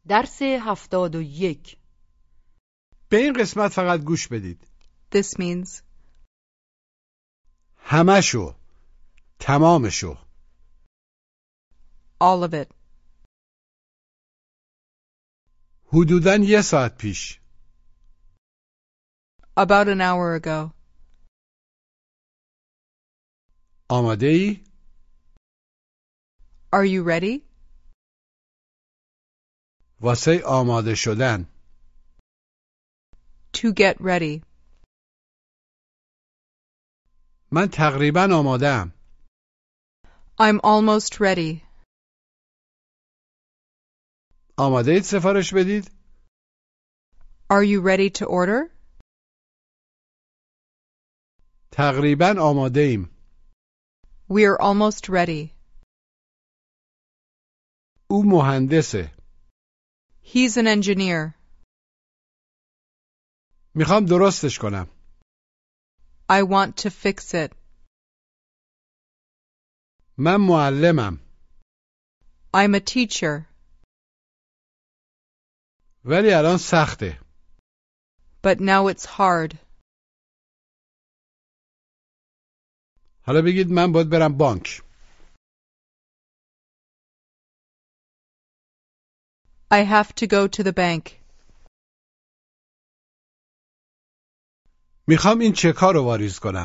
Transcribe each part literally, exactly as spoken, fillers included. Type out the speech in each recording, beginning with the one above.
درس هفتاد و یک. به این قسمت فقط گوش بدید. This means همشو، تمامشو. all of it. حدوداً یه ساعت پیش. About an hour ago. آماده ای؟ Are you ready? واسه آماده شدن. To get ready. من تقریباً آماده‌ام. I'm almost ready. آماده اید سفارش بدید؟ Are you ready to order? تقریباً آماده ایم. We're almost ready. او مهندسه. He's an engineer. میخوام درستش کنم. I want to fix it. من معلمم. I'm a teacher. ولی الان سخته. But now it's hard. حالا بگید من باید برم بانک. I have to go to the bank. میخوام این چک‌ها رو واریز کنم.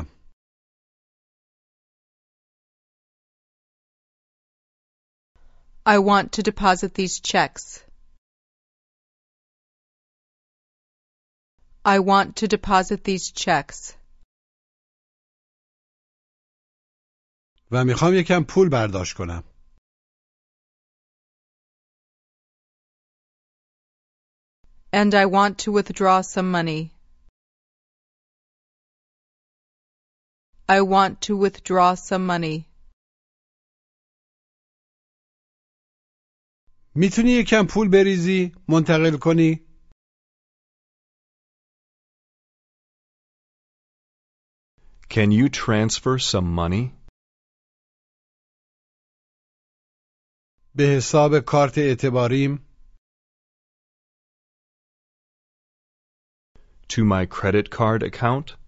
I want to deposit these checks. I want to deposit these checks. و میخوام یکم پول برداشت کنم. And I want to withdraw some money. I want to withdraw some money. میتونی یکم پول بریزی؟ منتقل کنی؟ Can you transfer some money? به حساب کارت اعتباریم؟ To my credit card account?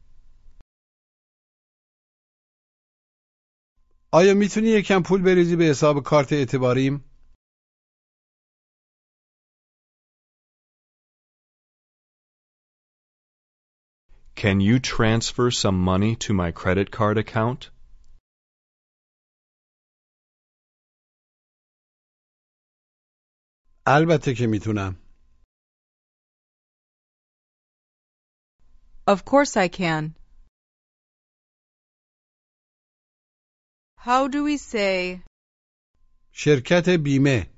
آیا میتونی یکم پول بریزی به حساب کارت اعتباریم؟ Can you transfer some money to my credit card account? البته که میتونم. Of course I can. How do we say شرکت بیمه.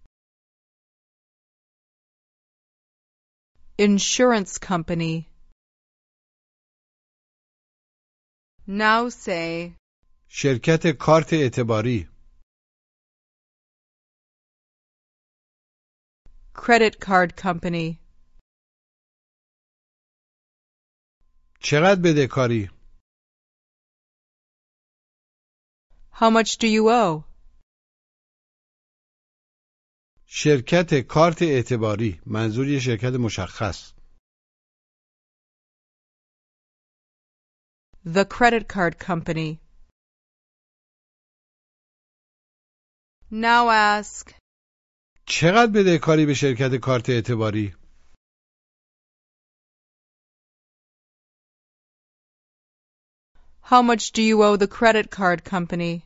insurance company? Now say شرکت کارت اعتباری. credit card company. چقدر بدهکاری؟ How much do you owe? شرکت کارت اعتباری. منظور یه شرکت مشخص. The credit card company. Now ask چقدر بدهکاری به شرکت کارت اعتباری؟ How much do you owe the credit card company?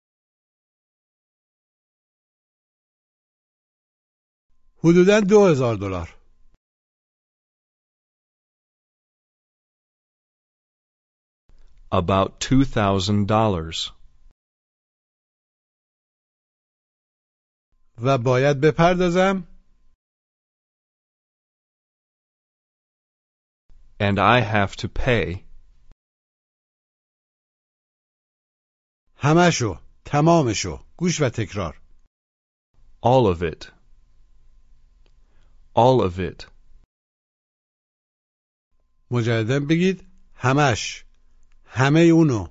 حدوداً دو هزار دلار. About two thousand dollars. و باید بپردازم؟ And I have to pay. همشو، تمامشو. گوش و تکرار. All of it. All of it. مجدداً بگید همش. همه اونو.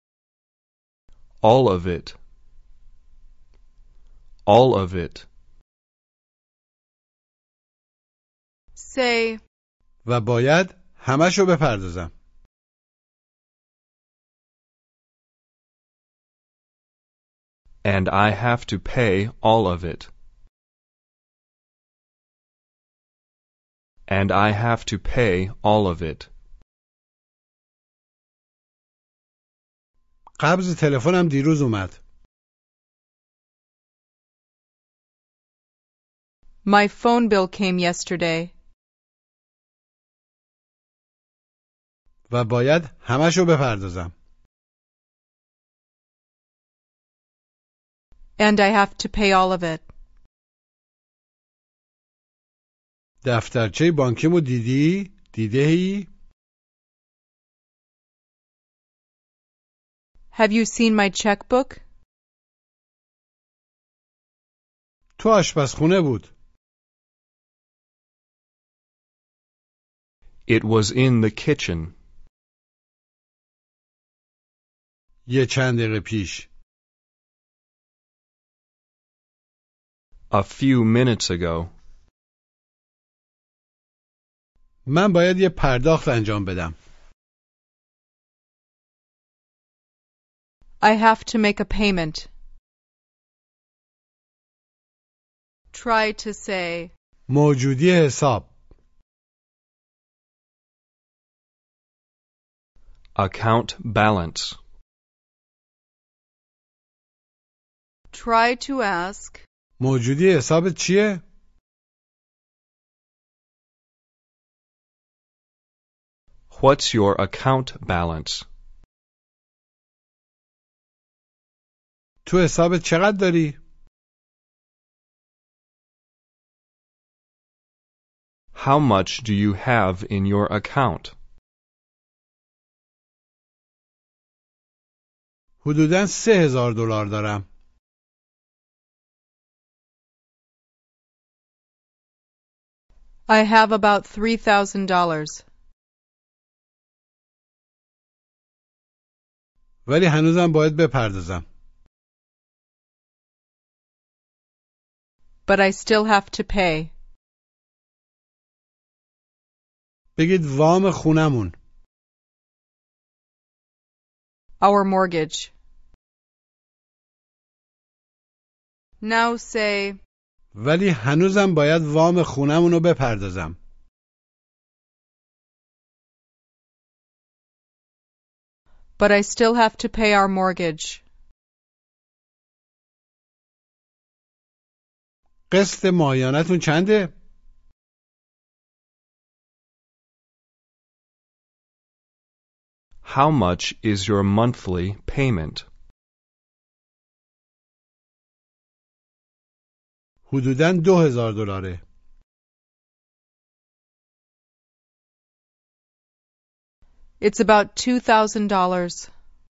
All of it. All of it. say, و باید همشو بپردازم. And I have to pay all of it. And I have to pay all of it. قبض تلفنم دیروز اومد. my phone bill came yesterday. و باید همشو بپردازم. And I have to pay all of it. دفترچه بانکیمو دیدی؟ دیده‌ای؟ Have you seen my checkbook? تو آشپزخونه بود. It was in the kitchen. یه چند دقیقه پیش. A few minutes ago. من باید یه پرداخت انجام بدم. I have to make a payment. Try to say, موجودی حساب. Account balance. try to ask, موجودی حسابت چیه؟ What's your account balance? تو حسابت چقدر داری؟ How much do you have in your account? حدوداً سه هزار دلار دارم. I have about three thousand dollars. ولی هنوزم باید بپردازم. But I still have to pay. بگید وام خونمون. Our mortgage. Now say, ولی هنوزم باید وام خونمون رو بپردازم. but I still have to pay our mortgage. قسط ماهیانتون چنده؟ How much is your monthly payment? حدوداً دو هزار دلاره. It's about two thousand dollars.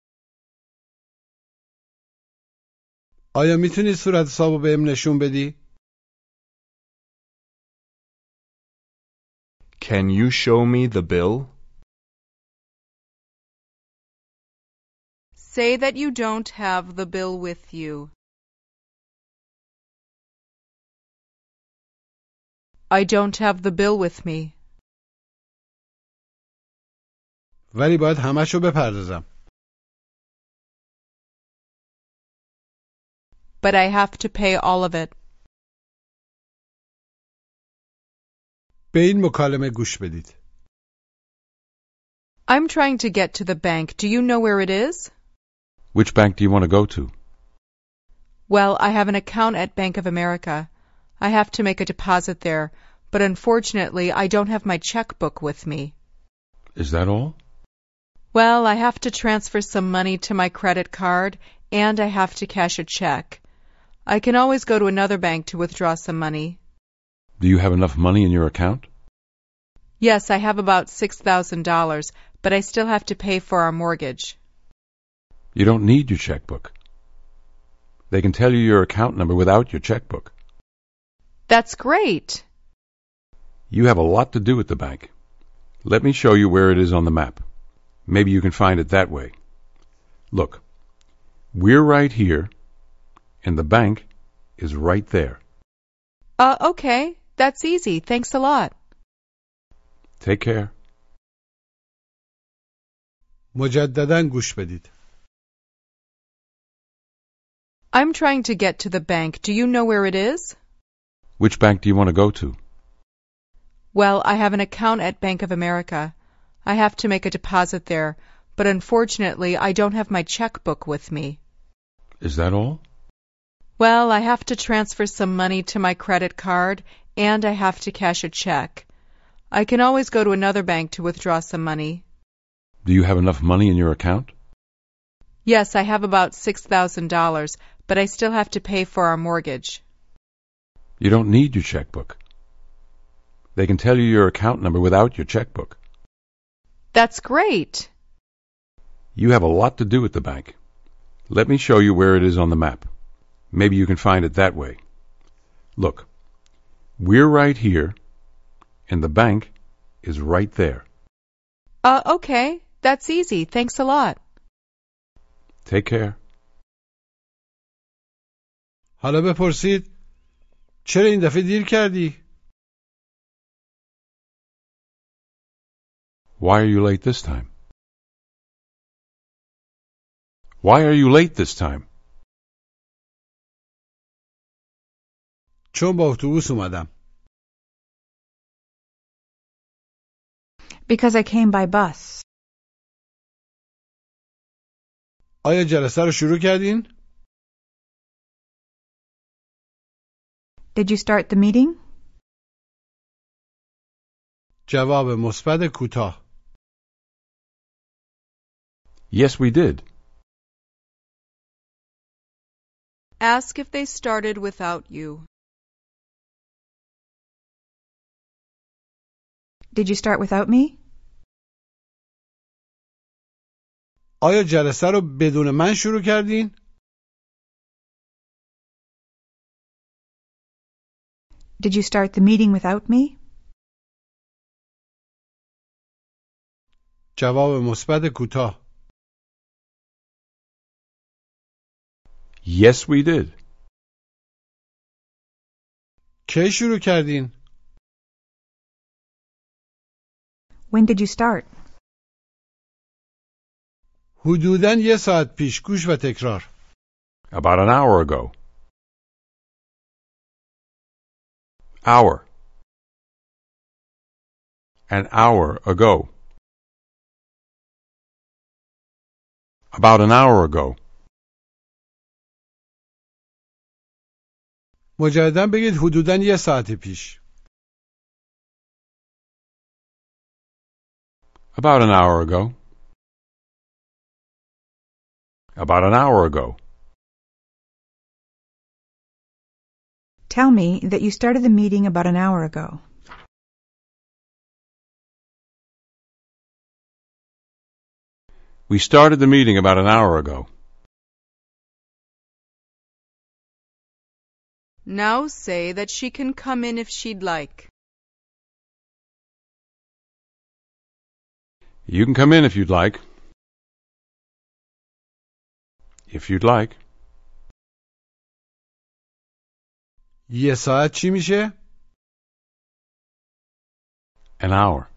آیا میتونی صورت حسابو بهم نشون بدی؟ Can you show me the bill? Say that you don't have the bill with you. I don't have the bill with me. ولی باید همشو بپردازم. But I have to pay all of it. به این مکالمه گوش بدید. I'm trying to get to the bank. Do you know where it is? Which bank do you want to go to? Well, I have an account at Bank of America. I have to make a deposit there, but unfortunately I don't have my checkbook with me. Is that all? Well, I have to transfer some money to my credit card, and I have to cash a check. I can always go to another bank to withdraw some money. Do you have enough money in your account? Yes, I have about six thousand dollars, but I still have to pay for our mortgage. You don't need your checkbook. They can tell you your account number without your checkbook. That's great. You have a lot to do at the bank. Let me show you where it is on the map. Maybe you can find it that way. Look, we're right here, and the bank is right there. Uh, okay. That's easy. Thanks a lot. Take care. مجدداً گوش بدید. I'm trying to get to the bank. Do you know where it is? Which bank do you want to go to? Well, I have an account at Bank of America. I have to make a deposit there, but unfortunately I don't have my checkbook with me. Is that all? Well, I have to transfer some money to my credit card, and I have to cash a check. I can always go to another bank to withdraw some money. Do you have enough money in your account? Yes, I have about six thousand dollars, but I still have to pay for our mortgage. You don't need your checkbook. They can tell you your account number without your checkbook. That's great. You have a lot to do at the bank. Let me show you where it is on the map. Maybe you can find it that way. Look, we're right here, and the bank is right there. Uh, okay. That's easy. Thanks a lot. Take care. حالا بپرسید چرا این دفعه دیر کردی؟ Why are you late this time? Why are you late this time? چون با اتوبوس اومدم. Because I came by bus. آیا جلسه رو شروع کردین؟ Did you start the meeting? جواب مثبت کوتاه. Yes, we did. Ask if they started without you. Did you start without me? آیا جلسه رو بدون من شروع کردین؟ Did you start the meeting without me? جواب مثبت کوتاه. Yes, we did. کی شروع کردین؟ When did you start? حدوداً یه ساعت پیش. گوش و تکرار. About an hour ago. Hour. An hour ago. About an hour ago. مجدداً بگید حدوداً یه ساعت پیش. About an hour ago. About an hour ago. Tell me that you started the meeting about an hour ago. We started the meeting about an hour ago. Now say that she can come in if she'd like. You can come in if you'd like. If you'd like. یه ساعت چی میشه؟ An hour.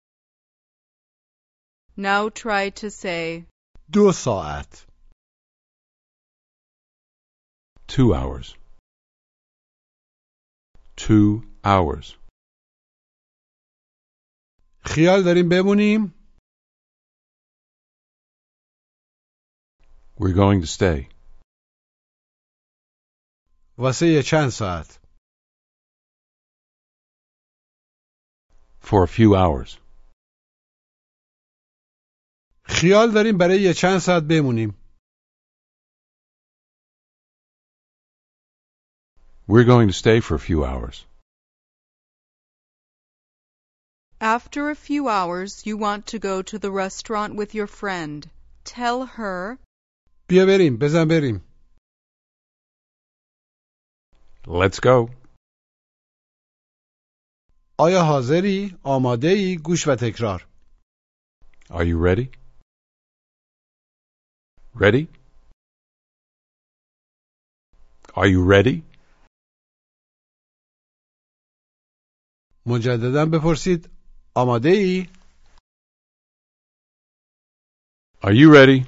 Now try to say, دو ساعت. Two hours. Two hours. خیال داریم بمونیم؟ We're going to stay. واسه یه چند ساعت. For a few hours. خیال داریم برای یه چند ساعت بمونیم. We're going to stay for a few hours. after a few hours you want to go to the restaurant with your friend. Tell her, بیا بریم. بزن بریم. Let's go. آیا حاضری؟ آماده ای؟ گوش و تکرار. Are you ready? Ready? Are you ready? مجدداً بپرسید آماده ای؟ Are you ready?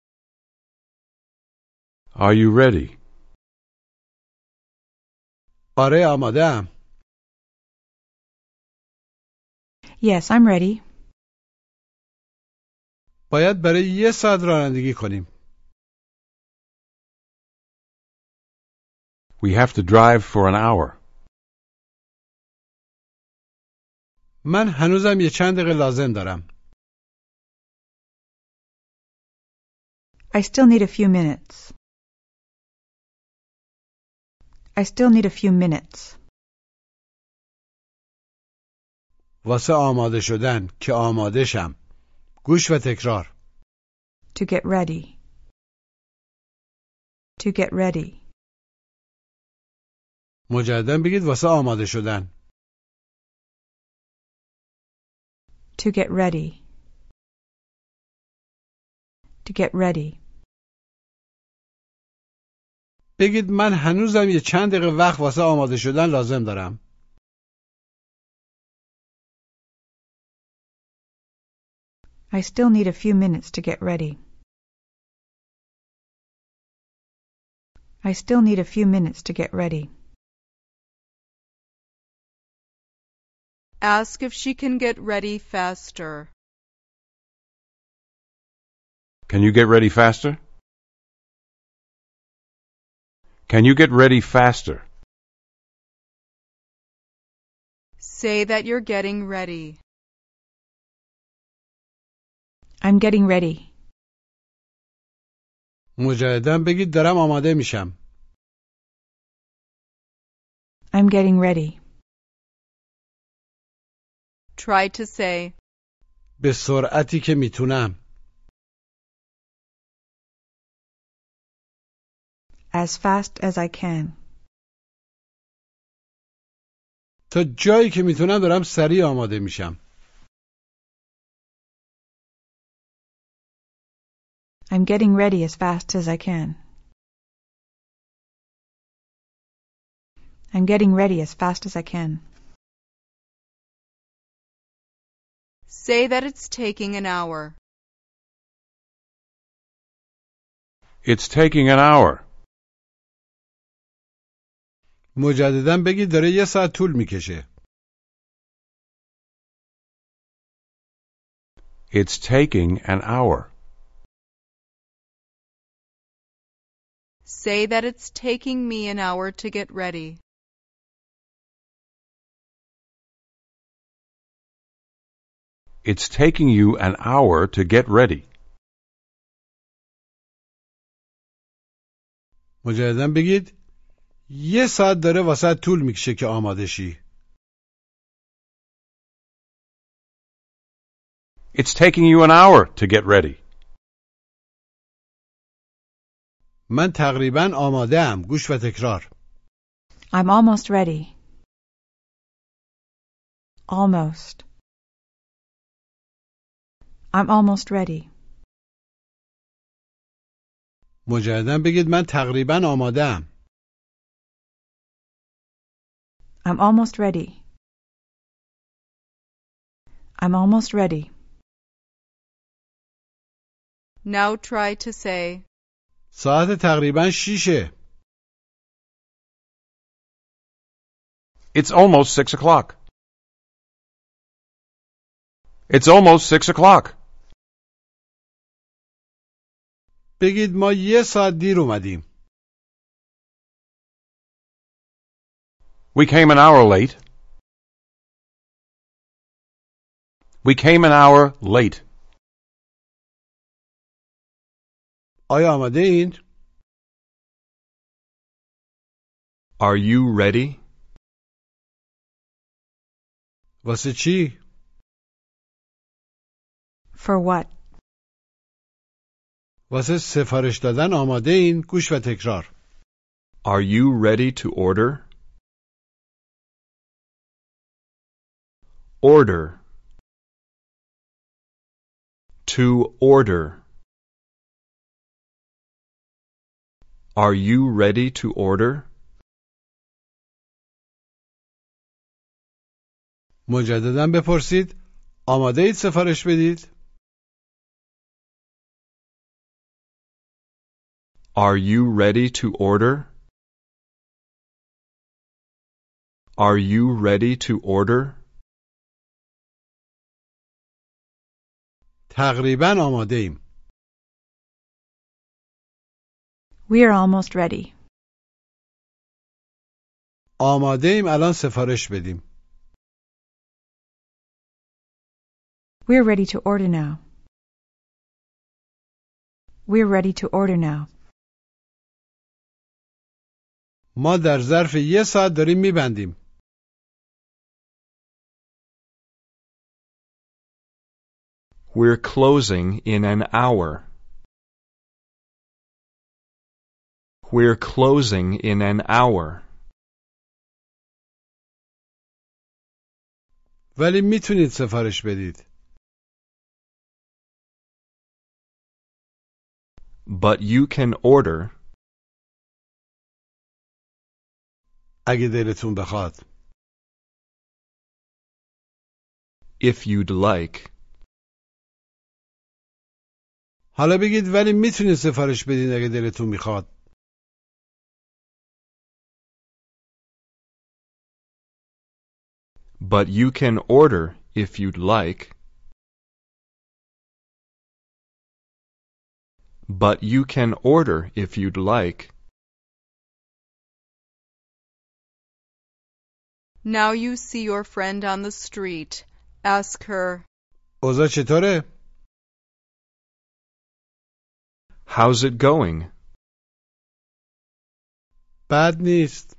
Are you ready? آره آماده‌ام. Yes, I'm ready. باید برای یه ساعت رانندگی کنیم. We have to drive for an hour. من هنوزم یه چند دقیقه لازم دارم. I still need a few minutes. I still need a few minutes. واسه آماده شدن که آماده شم. گوش و تکرار. To get ready. To get ready. مجددا بگید واسه آماده شدن. To get ready. To get ready. بگید من هنوزم یه چند دقیقه وقت واسه آماده شدن لازم دارم. I still need a few minutes to get ready. I still need a few minutes to get ready. Ask if she can get ready faster. Can you get ready faster? Can you get ready faster? Say that you're getting ready. I'm getting ready. مجددا بگید دارم آماده میشم. I'm getting ready. Try to say, به سرعتی که میتونم. As fast as I can. تا جایی که میتونم دارم سریع آماده میشم. I'm getting ready as fast as I can. I'm getting ready as fast as I can. say that it's taking an hour. It's taking an hour. مجددا بگید داره یه ساعت طول میکشه. It's taking an hour. Say that it's taking me an hour to get ready. It's taking you an hour to get ready. مجددا بگید یه ساعت داره واسه طول میکشه که آماده شی. It's taking you an hour to get ready. من تقریبا آماده ام. گوش و تکرار. I'm almost ready. Almost. I'm almost ready. مجددا بگید من تقریبا آماده ام. I'm almost ready. I'm almost ready. Now try to say, ساعت تقریبا شیشه. It's almost six o'clock. It's almost six o'clock. بگید ما یه ساعت دیر اومدیم. We came an hour late. We came an hour late. آیا آماده این؟ Are you ready? واسه چی؟ For what? واسه سفارش دادن آماده این؟ گوش و تکرار. Are you ready to order? Order. To order. Are you ready to order? مجددا بپرسید آماده اید سفارش بدید؟ Are you ready to order? Are you ready to order? تقریبا آماده ایم. We're almost ready. آماده ایم الان سفارش بدیم. We're ready to order now. We're ready to order now. ما در ظرف یه ساعت داریم میبندیم. We're closing in an hour. We're closing in an hour. ولی میتونید سفارش بدید. But you can order اگه دلتون بخواد. if you'd like. حالا بگید ولی میتونید سفارش بدید اگه دلتون میخواد. But you can order if you'd like. But you can order if you'd like. Now you see your friend on the street. Ask her, اوضاع چطوره؟ How's it going? بد نیست.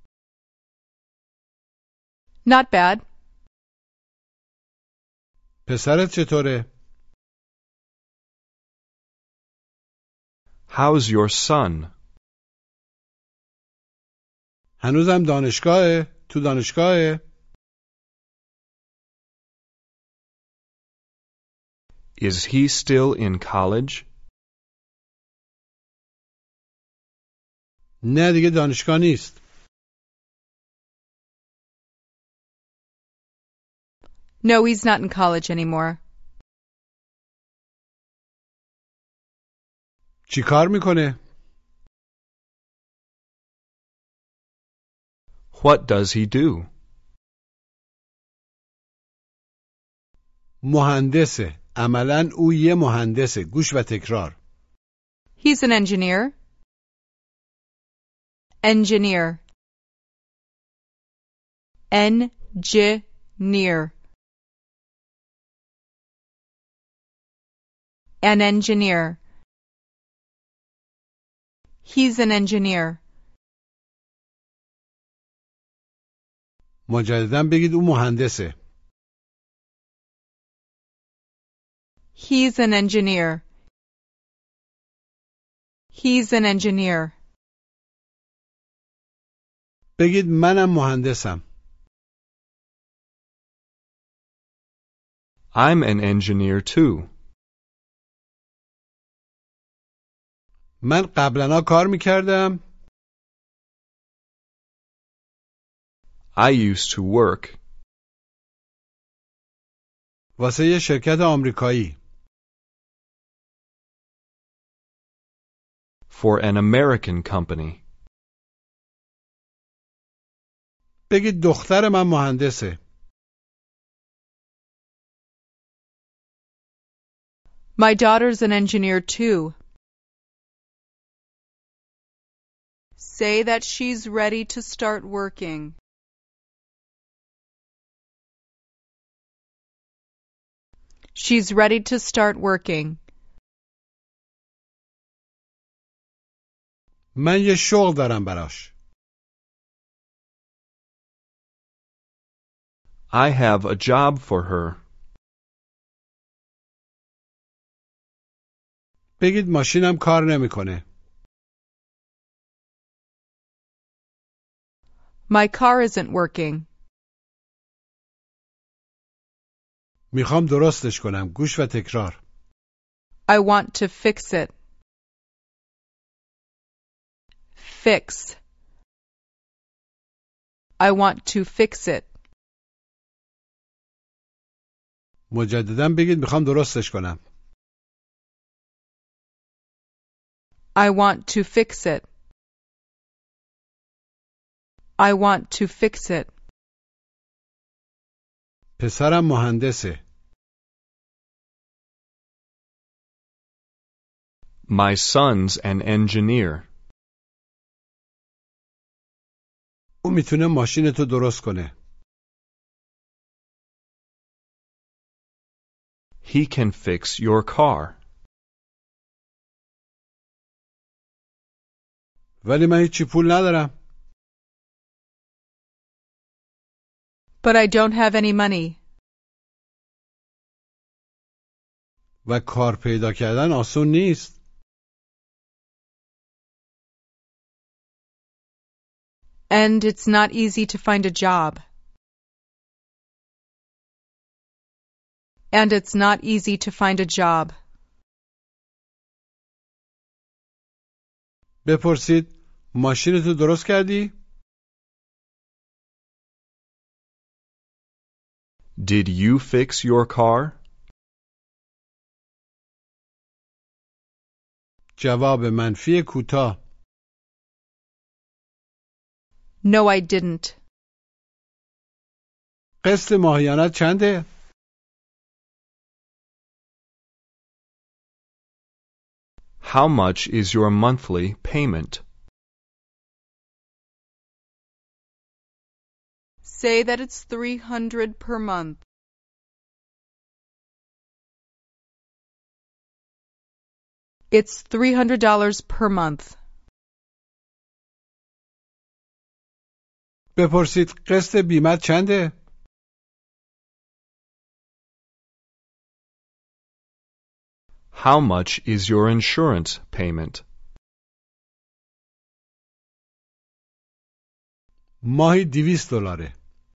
Not bad. پسرت چطوره؟ How's your son? هنوزم دانشگاهه؟ تو دانشگاهه؟ Is he still in college? نه دیگه دانشگاه نیست. No, he's not in college anymore. چی کار میکنه؟ What does he do? مهندسه. عملاً او یه مهندسه. گوش و تکرار. He's an engineer. Engineer. Engineer. An engineer. He's an engineer. مجدداً بگید او مهندسه. He's an engineer. He's an engineer. بگید منم مهندسم. I'm an engineer too. من قبلا کار میکردم. I used to work واسه یه شرکت آمریکایی. for an American company. بگید دختر من مهندسه. My daughter's an engineer too. Say that she's ready to start working. She's ready to start working. من یه شغل دارم براش. I have a job for her. بگید ماشینم کار نمیکنه. My car isn't working. میخوام درستش کنم. گوش و تکرار. I want to fix it. Fix. I want to fix it. مجددا بگید میخوام درستش کنم. I want to fix it. I want to fix it. پسرم مهندسه. My son's an engineer. او میتونه ماشینتو درست کنه. He can fix your car. ولی من هیچی پول ندارم. But I don't have any money. و کار پیدا کردن آسون نیست. And it's not easy to find a job. And it's not easy to find a job. بپرسید ماشینتو درست کردی؟ Did you fix your car? جواب منفی کوتاه. No, I didn't. قسط ماهیانت چنده؟ How much is your monthly payment? Say that it's three hundred per month. It's three hundred dollars per month. بپرسید قسط بیمت چنده؟ How much is your insurance payment? ماهی دویست دلاره.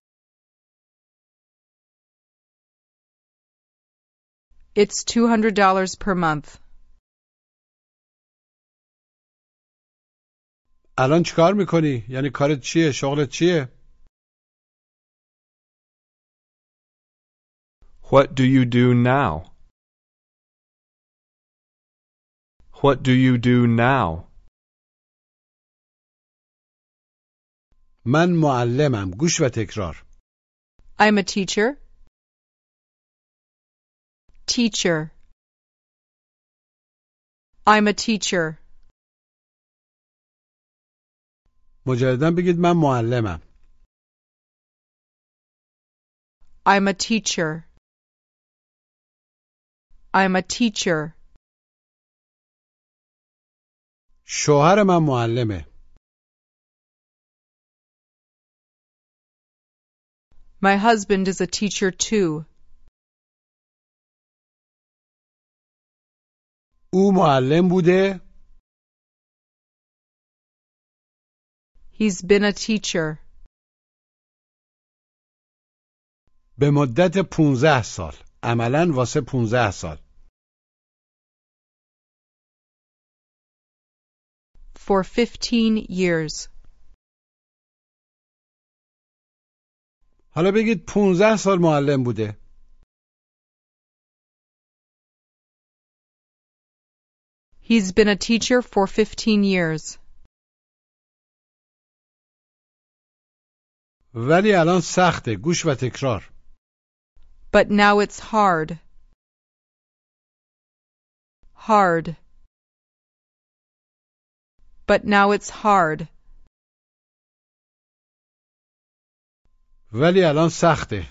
It's two hundred dollars per month. الان چیکار میکنی؟ یعنی کارت چیه؟ شغلت چیه؟ What do you do now? What do you do now? من معلمم. گوش و تکرار. I'm a teacher. Teacher. I'm a teacher. مجددا بگید من معلمم. I'm a teacher. I'm a teacher. شوهر من معلمه. My husband is a teacher too. او معلم بوده؟ He's been a teacher. به مدت پونزده سال. عملاً واسه پونزده سال. For fifteen years. حالا بگید پونزده سال معلم بوده. He's been a teacher for fifteen years. ولی الان سخته. گوش و تکرار. But now it's hard. Hard. But now it's hard. ولی الان سخته.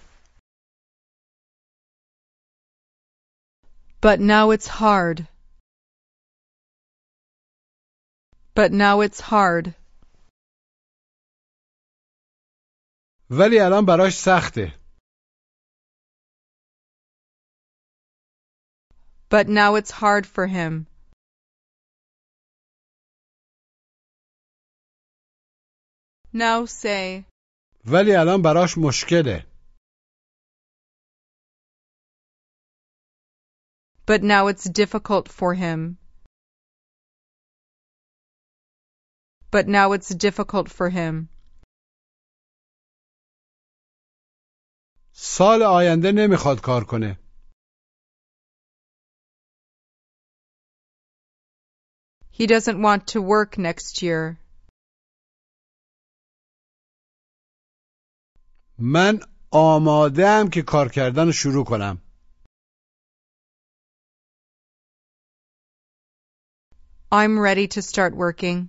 But now it's hard. But now it's hard. ولی الان براش سخته. But now it's hard for him. Now say. ولی الان براش مشکله. But now it's difficult for him. But now it's difficult for him. سال آینده نمیخواد کار کنه. He doesn't want to work next year. من آماده‌ام که کار کردن رو شروع کنم. I'm ready to start working.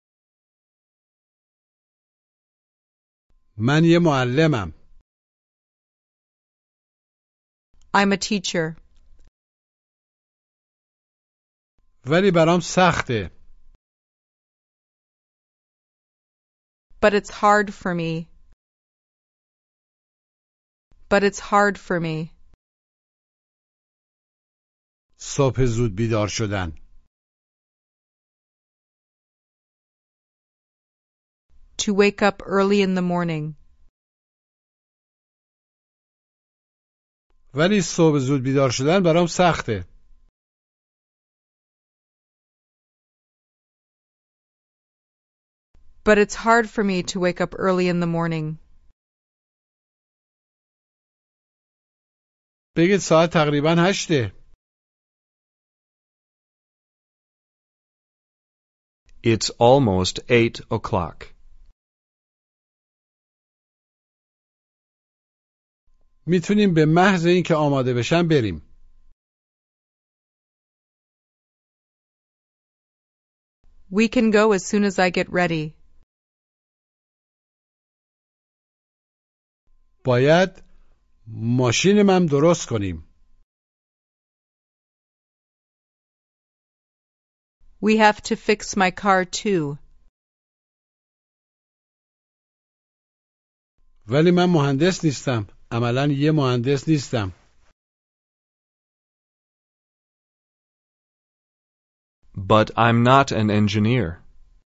من یه معلمم. I'm a teacher. ولی برام سخته. But it's hard for me. But it's hard for me. صبح زود بیدار شدن. To wake up early in the morning. ولی صبح زود بیدار شدن برام سخته. But it's hard for me to wake up early in the morning. بگید ساعت تقریباً هشته. It's almost eight o'clock. میتونیم به محض اینکه آماده بشن بریم. We can go as soon as I get ready. باید ماشینم درست کنیم. We have to fix my car too. ولی من مهندس نیستم. عملاً یه مهندس نیستم. But I'm not an engineer.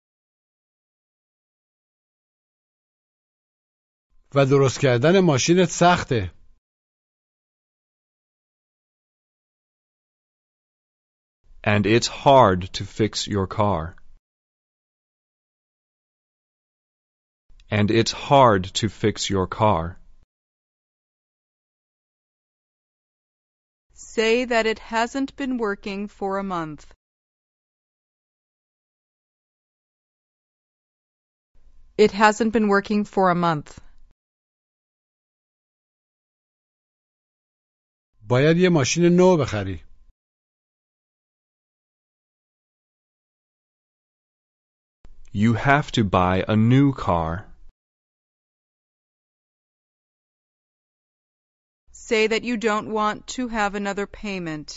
و درست کردن ماشینت سخته. And it's hard to fix your car. And it's hard to fix your car. Say that it hasn't been working for a month. It hasn't been working for a month. باید یه ماشین نو بخری. You have to buy a new car. Say that you don't want to have another payment.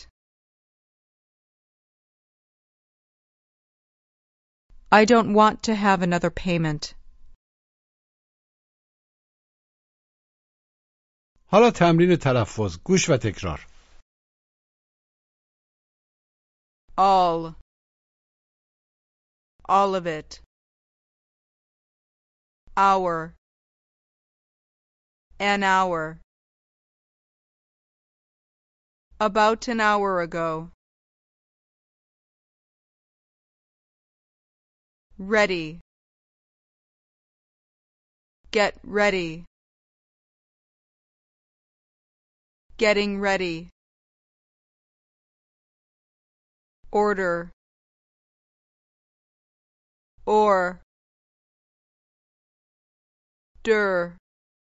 I don't want to have another payment. حالا تمرین تلفظ. گوش و تکرار. All. All of it. Hour. An hour. About an hour ago. Ready. Get ready. Getting ready. Order. Or. Der.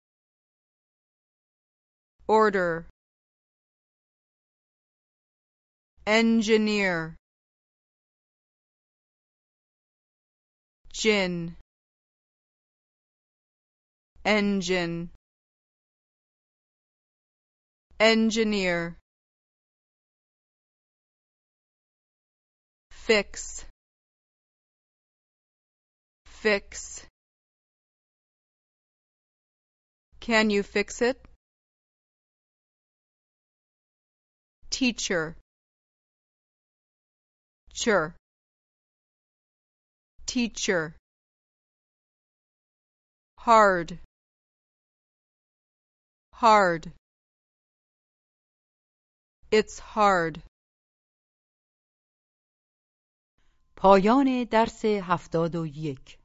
Order. Engineer. Gin. Engine. Engineer. Fix. Fix. Can you fix it? Teacher. Sure. Teacher. Hard. Hard. It's hard. پایان درس هفتاد و یک.